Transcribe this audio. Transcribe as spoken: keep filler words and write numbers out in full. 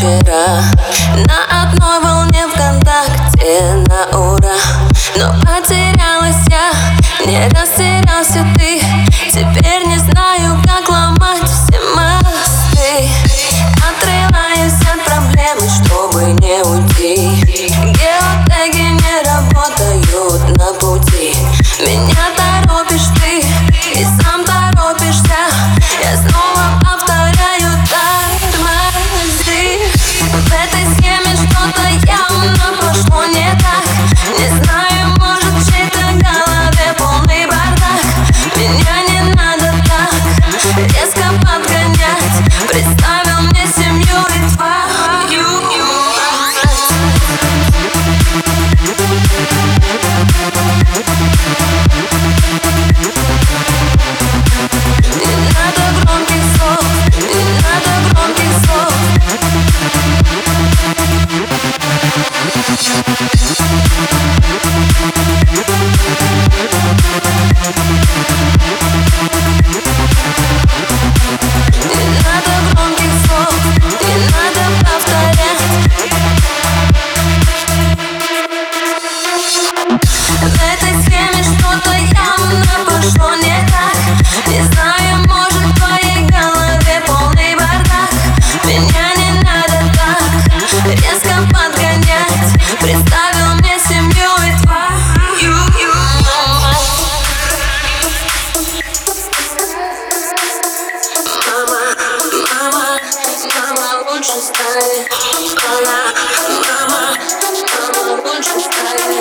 вчера. На одной волне ВКонтакте на ура. Но потерялась я, не растерялся ты. Теперь не знаю, как ломать все мосты. Отрываюсь от проблемы, чтобы не уйти. Геотеги не работают на пути. Меня торопишь ты и сам торопишься. Я снова повторяю: тормози. В этой схеме что-то явно пошло не так. Не знаю, может, в чьей-то голове полный бардак. Меня не надо так резко подгонять. Представил мне семью и твою мать. Не надо громких слов, не надо громких слов. Не надо громких слов, не надо повторять. В этой схеме что-то явно пошло не так. Не знаю, может, в твоей голове полный бардак. Меня не надо так резко подгонять. Представил мне семью и твою мать. Мама, мама, мама, лучше стань. Мама, мама, мама, лучше стань.